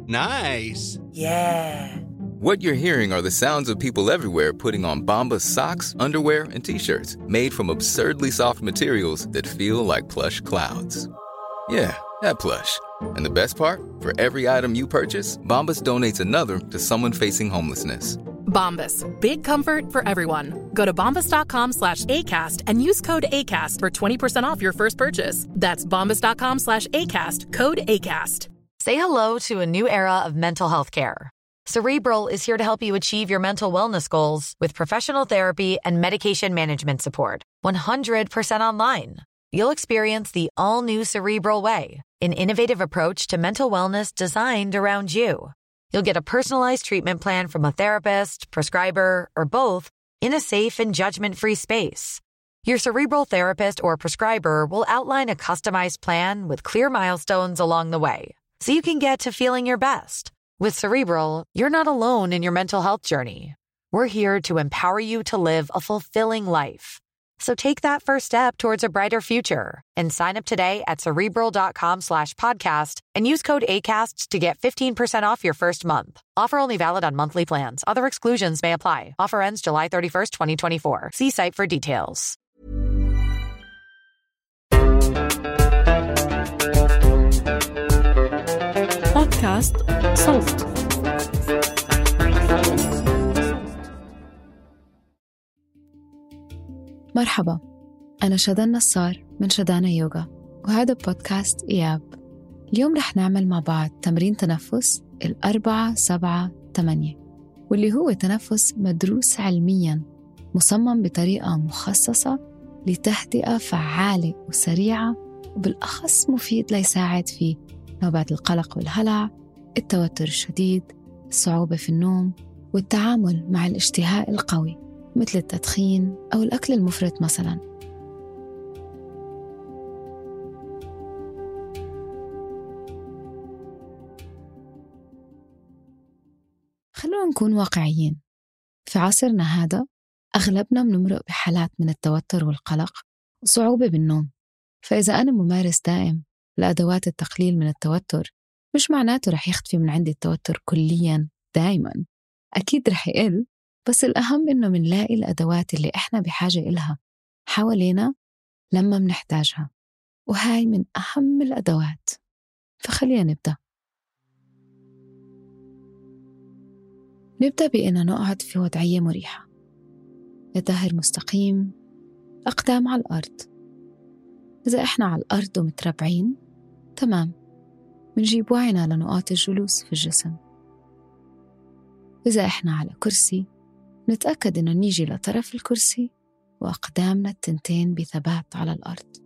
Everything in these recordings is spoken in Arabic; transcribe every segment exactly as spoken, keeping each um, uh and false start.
Nice. Yeah. What you're hearing are the sounds of people everywhere putting on Bombas socks, underwear, and T-shirts made from absurdly soft materials that feel like plush clouds. Yeah, that plush. And the best part? For every item you purchase, Bombas donates another to someone facing homelessness. Bombas. Big comfort for everyone. Go to bombas.com slash ACAST and use code ACAST for twenty percent off your first purchase. That's bombas.com slash ACAST. Code ACAST. Say hello to a new era of mental health care. Cerebral is here to help you achieve your mental wellness goals with professional therapy and medication management support. one hundred percent online. You'll experience the all-new Cerebral Way, an innovative approach to mental wellness designed around you. You'll get a personalized treatment plan from a therapist, prescriber, or both in a safe and judgment-free space. Your Cerebral therapist or prescriber will outline a customized plan with clear milestones along the way, so you can get to feeling your best. With Cerebral, you're not alone in your mental health journey. We're here to empower you to live a fulfilling life. So take that first step towards a brighter future and sign up today at Cerebral.com slash podcast and use code ACAST to get fifteen percent off your first month. Offer only valid on monthly plans. Other exclusions may apply. Offer ends July thirty-first, twenty twenty-four. See site for details. بودكاست صوت. مرحبا، أنا شدان نصار من شدانا يوغا، وهذا بودكاست إياب. اليوم رح نعمل مع بعض تمرين تنفس الأربعة سبعة تمانية، واللي هو تنفس مدروس علمياً، مصمم بطريقة مخصصة لتهدئة فعالة وسريعة، وبالأخص مفيد ليساعد في نوبات القلق والهلع، التوتر الشديد، الصعوبة في النوم، والتعامل مع الاشتهاء القوي مثل التدخين أو الأكل المفرط مثلاً. خلونا نكون واقعيين. في عصرنا هذا أغلبنا بنمرق بحالات من التوتر والقلق وصعوبة بالنوم، فإذا أنا ممارس دائم لأدوات التقليل من التوتر مش معناته رح يختفي من عندي التوتر كلياً دائماً. أكيد رح يقل، بس الأهم إنه منلاقي الأدوات اللي إحنا بحاجة إلها حوالينا لما منحتاجها، وهاي من أهم الأدوات. فخلينا نبدأ. نبدأ بأننا نقعد في وضعية مريحة، الظهر مستقيم، أقدام على الأرض. إذا إحنا على الأرض ومتربعين تمام، منجيب وعينا لنقاط الجلوس في الجسم. إذا إحنا على كرسي نتأكد إنه نيجي لطرف الكرسي وأقدامنا التنتين بثبات على الأرض.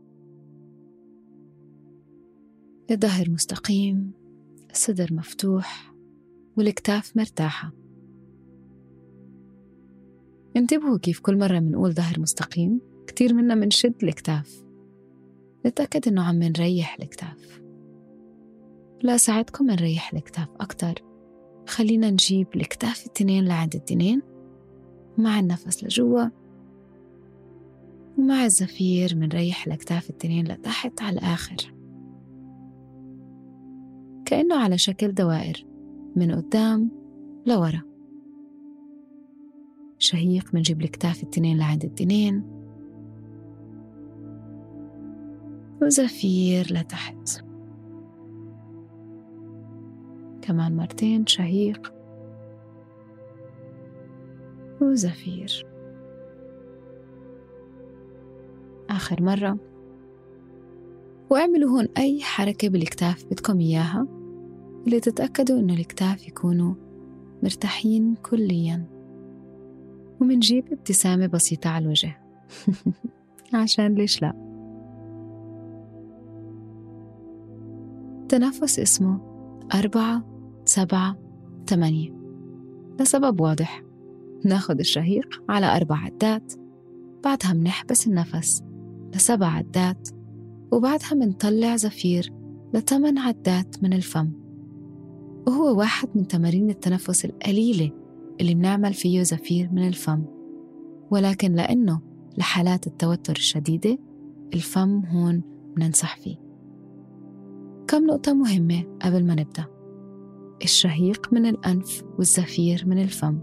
الظهر مستقيم، الصدر مفتوح، والكتاف مرتاحة. انتبهوا كيف كل مرة منقول ظهر مستقيم كتير منا منشد الكتاف. نتأكد إنه عم نريح الكتاف. لا أساعدكم نريح الكتاف أكتر، خلينا نجيب الكتاف التنين لعند التنين مع النفس لجوا، ومع الزفير منريح الكتاف التنين لتحت على الآخر، كأنه على شكل دوائر من قدام لورا. شهيق منجيب الكتاف التنين لعند التنين، وزفير لتحت. كمان مرتين، شهيق وزفير. آخر مرة. واعملوا هون أي حركة بالكتاف بدكم إياها اللي تتأكدوا إنه الكتاف يكونوا مرتاحين كلياً. ومنجيب ابتسامة بسيطة على الوجه عشان ليش لا. تنفس اسمه أربعة سبعة تمانية لسبب واضح. ناخد الشهيق على أربع عدات، بعدها منحبس النفس لسبع عدات، وبعدها منطلع زفير لثمان عدات من الفم. وهو واحد من تمارين التنفس القليلة اللي بنعمل فيه زفير من الفم، ولكن لأنه لحالات التوتر الشديدة الفم هون بننصح فيه. كم نقطة مهمة قبل ما نبدأ. الشهيق من الأنف والزفير من الفم.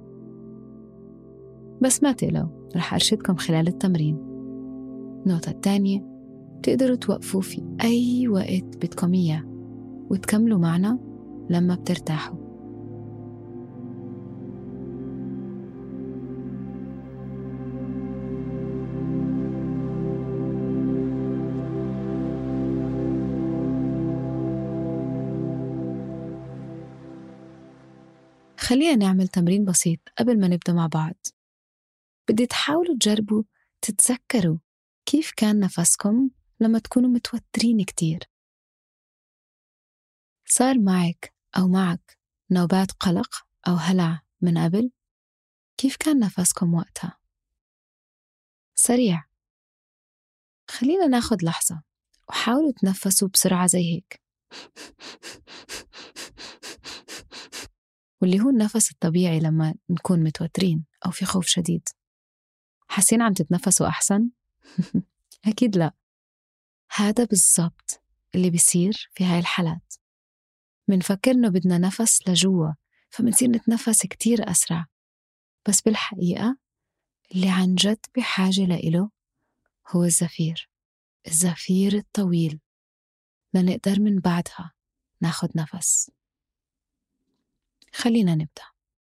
بس ما تقلقوا، رح أرشدكم خلال التمرين. النقطة الثانية، بتقدروا توقفوا في أي وقت بدكم إياه وتكملوا معنا لما بترتاحوا. خلينا نعمل تمرين بسيط قبل ما نبدأ مع بعض. بدي تحاولوا تجربوا تتذكروا كيف كان نفسكم لما تكونوا متوترين كتير. صار معك أو معك نوبات قلق أو هلع من قبل؟ كيف كان نفسكم وقتها؟ سريع. خلينا ناخد لحظة وحاولوا تنفسوا بسرعة زي هيك، واللي هو النفس الطبيعي لما نكون متوترين أو في خوف شديد. حاسين عم تتنفسوا أحسن؟ أكيد لا. هذا بالضبط اللي بيصير في هاي الحالات. منفكر إنه بدنا نفس لجوا فمنصير نتنفس كتير أسرع، بس بالحقيقة اللي عن جد بحاجة لإله هو الزفير، الزفير الطويل، لنقدر من بعدها ناخد نفس. خلينا نبدأ.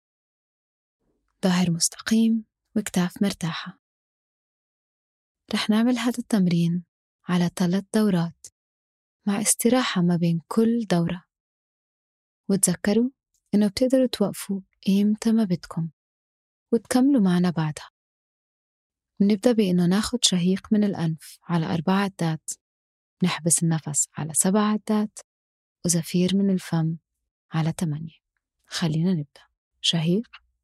ظهر مستقيم وكتاف مرتاحة. رح نعمل هذا التمرين على ثلاث دورات مع استراحة ما بين كل دورة، وتذكروا إنه بتقدروا توقفوا إمتى ما بدكم وتكملوا معنا بعدها. نبدأ بإنه ناخد شهيق من الأنف على أربع عدات، نحبس النفس على سبع عدات، وزفير من الفم على ثمانية. خلينا نبدأ. شهيق،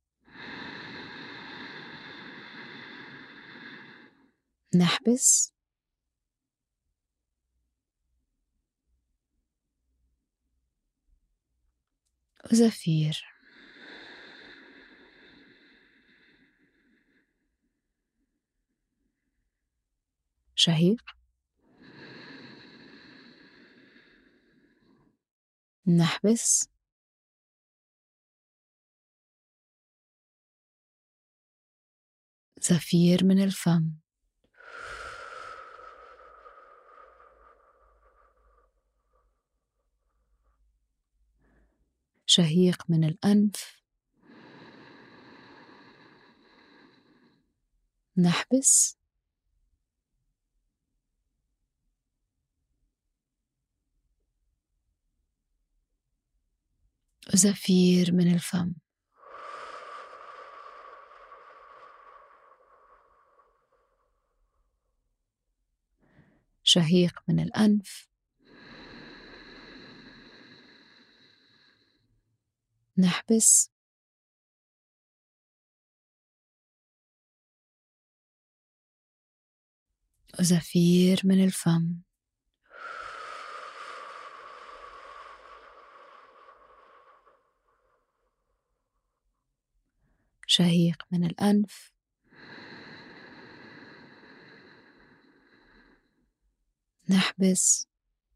نحبس، وزفير. شهيق، نحبس، زفير من الفم. شهيق من الأنف، نحبس، وزفير من الفم. شهيق من الأنف، نحبس، وزفير من الفم. شهيق من الأنف، نحبس،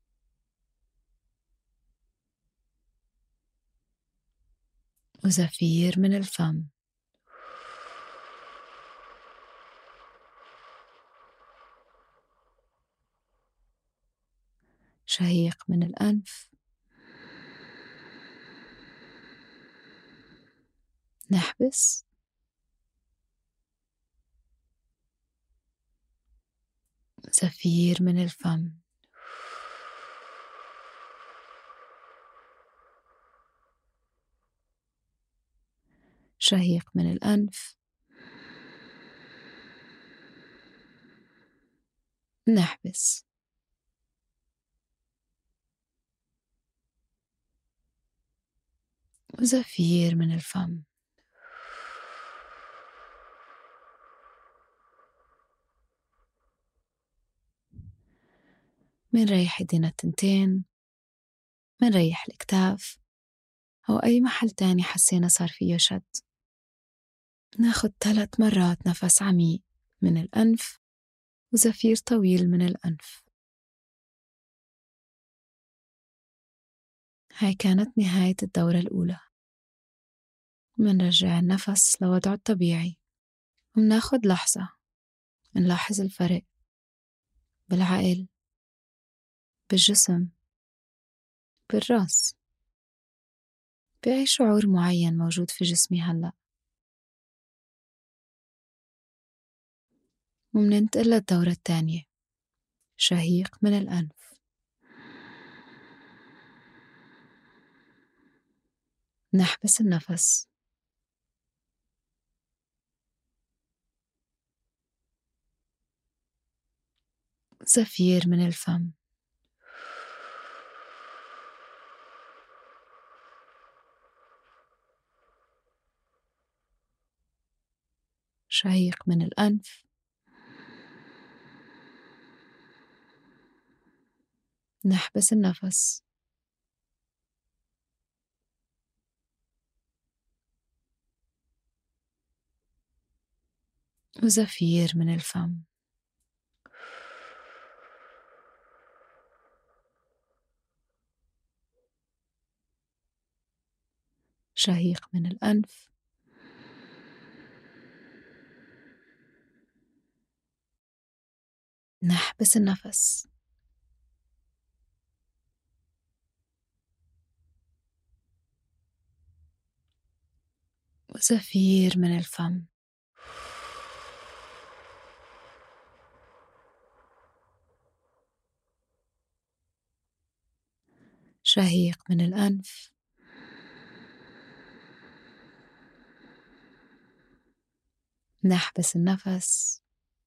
وزفير من الفم. شهيق من الأنف، نحبس، زفير من الفم. شهيق من الأنف، نحبس، وزفير من الفم. منريح ايدينا التنتين، منريح الكتاف أو أي محل تاني حسينا صار فيه شد. ناخد ثلاث مرات نفس عميق من الأنف وزفير طويل من الأنف. هاي كانت نهاية الدورة الأولى. منرجع النفس لوضعه الطبيعي، ومناخد لحظة نلاحظ الفرق بالعقل، بالجسم، بالرأس، بأي شعور معين موجود في جسمي هلأ. ومننتقل للدورة الثانية، شهيق من الأنف، نحبس النفس، زفير من الفم، شهيق من الأنف، نحبس النفس، وزفير من الفم. شهيق من الأنف، نحبس النفس، وزفير من الفم. شهيق من الأنف، نحبس النفس،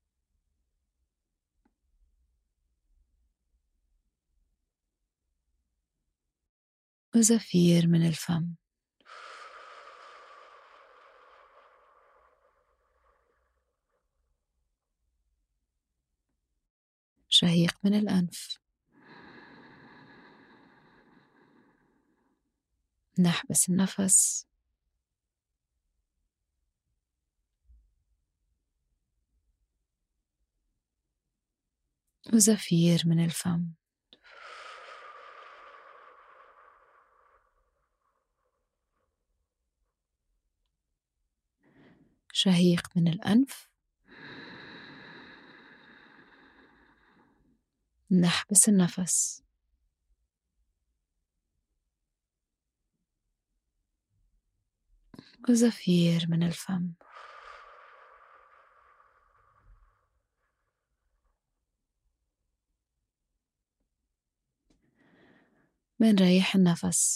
وزفير من الفم. شهيق من الأنف، نحبس النفس، وزفير من الفم. شهيق من الأنف، نحبس النفس، وزفير من الفم. منريح النفس،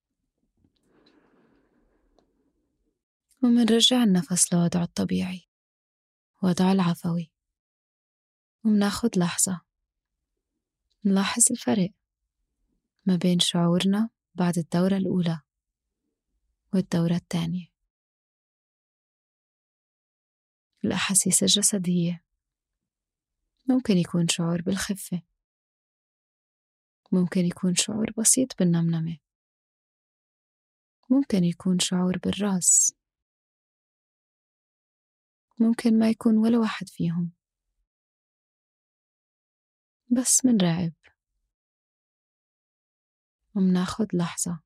ومنرجع النفس لوضعه الطبيعي، وضعه العفوي. ومناخد لحظة نلاحظ الفرق ما بين شعورنا بعد الدورة الأولى والدورة الثانية. الأحاسيس الجسدية ممكن يكون شعور بالخفة، ممكن يكون شعور بسيط بالنمنمة، ممكن يكون شعور بالرأس، ممكن ما يكون ولا واحد فيهم. بس منراقب ومناخد لحظة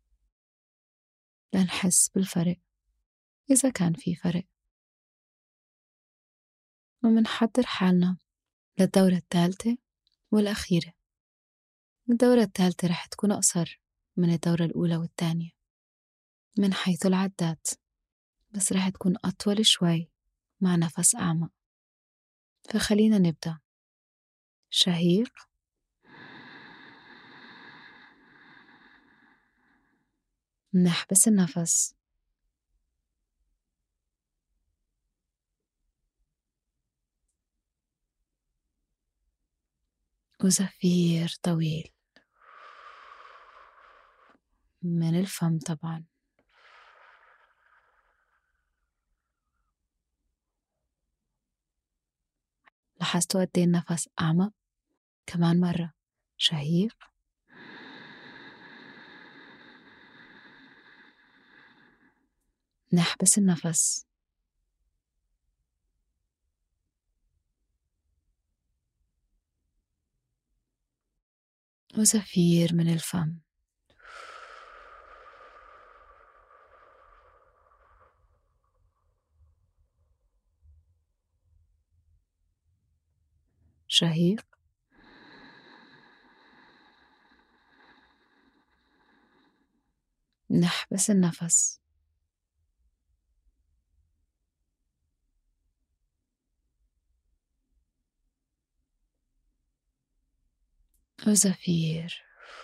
لنحس بالفرق إذا كان في فرق، ومنحضر حالنا للدورة الثالثة والأخيرة. الدورة الثالثة رح تكون أقصر من الدورة الأولى والثانية من حيث العدات، بس رح تكون أطول شوي مع نفس أعمق. فخلينا نبدأ. شهيق، نحبس النفس، وزفير طويل من الفم طبعا. لاحظتوا قد ايه النفس أعمق؟ كمان مرة. شهيق، نحبس النفس، وزفير من الفم. شهيق، نحبس النفس، وزفير،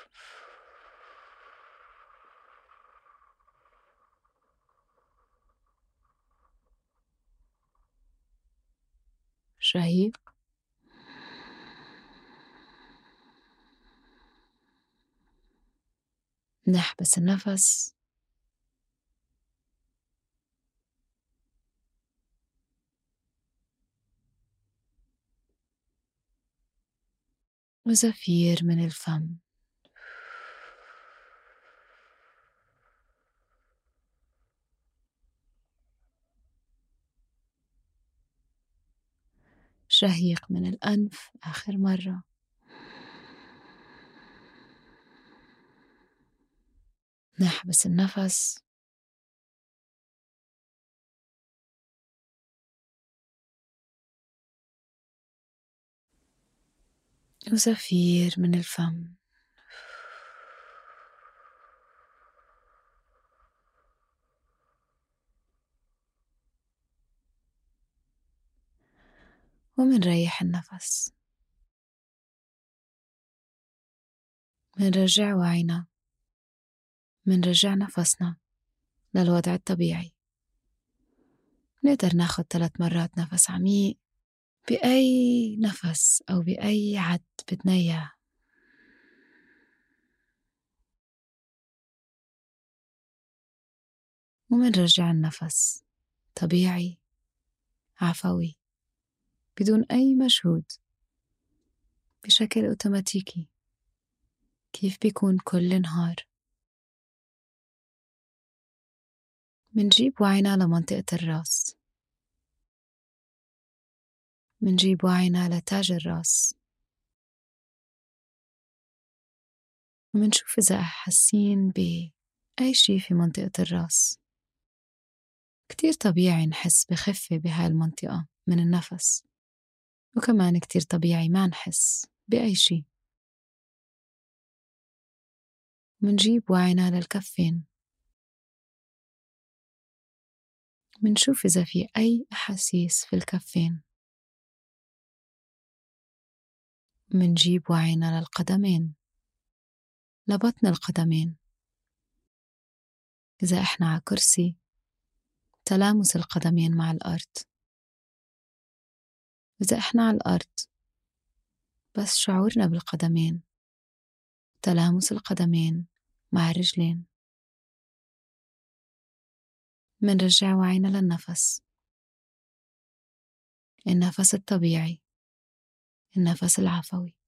شهيق، نحبس النفس، وزفير من الفم. شهيق من الأنف آخر مرة، نحبس النفس، وزفير من الفم. ومنريح النفس، منرجع وعينا، منرجع نفسنا للوضع الطبيعي. نقدر ناخد ثلاث مرات نفس عميق بأي نفس أو بأي عد بدنا إياه. ومنرجع النفس طبيعي عفوي بدون أي مجهود، بشكل أوتوماتيكي كيف بيكون كل نهار. منجيب وعينا لمنطقة الرأس، منجيب وعينا لتاج الرأس، ومنشوف إذا حاسين بأي شي في منطقة الرأس. كتير طبيعي نحس بخفة بهاي المنطقة من النفس، وكمان كتير طبيعي ما نحس بأي شي. منجيب وعينا للكفين، منشوف إذا في أي أحاسيس في الكفين. منجيب وعينا للقدمين، لبطن القدمين. إذا إحنا على كرسي، تلامس القدمين مع الأرض. إذا إحنا على الأرض، بس شعورنا بالقدمين، تلامس القدمين مع الرجلين. منرجع وعينا للنفس، النفس الطبيعي، النفس العفوي.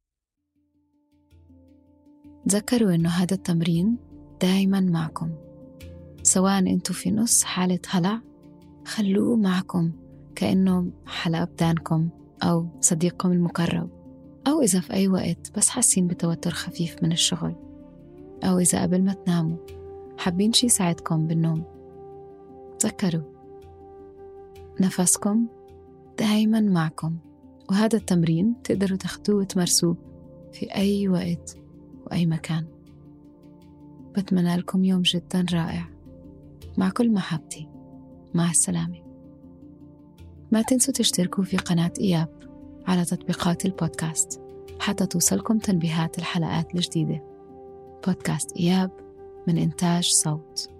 تذكروا إنه هذا التمرين دايما معكم، سواء أنتوا في نص حالة هلع، خلوه معكم كأنه حلقة بدانكم أو صديقكم المقرب، أو إذا في أي وقت بس حاسين بتوتر خفيف من الشغل، أو إذا قبل ما تناموا حابين شي يساعدكم بالنوم. تذكروا نفسكم دايما معكم، وهذا التمرين تقدروا تاخدوه وتمارسوه في أي وقت وأي مكان. بتمنى لكم يوم جدا رائع، مع كل محبتي. مع السلامة. ما تنسوا تشتركوا في قناة إياب على تطبيقات البودكاست حتى توصلكم تنبيهات الحلقات الجديدة. بودكاست إياب من إنتاج صوت.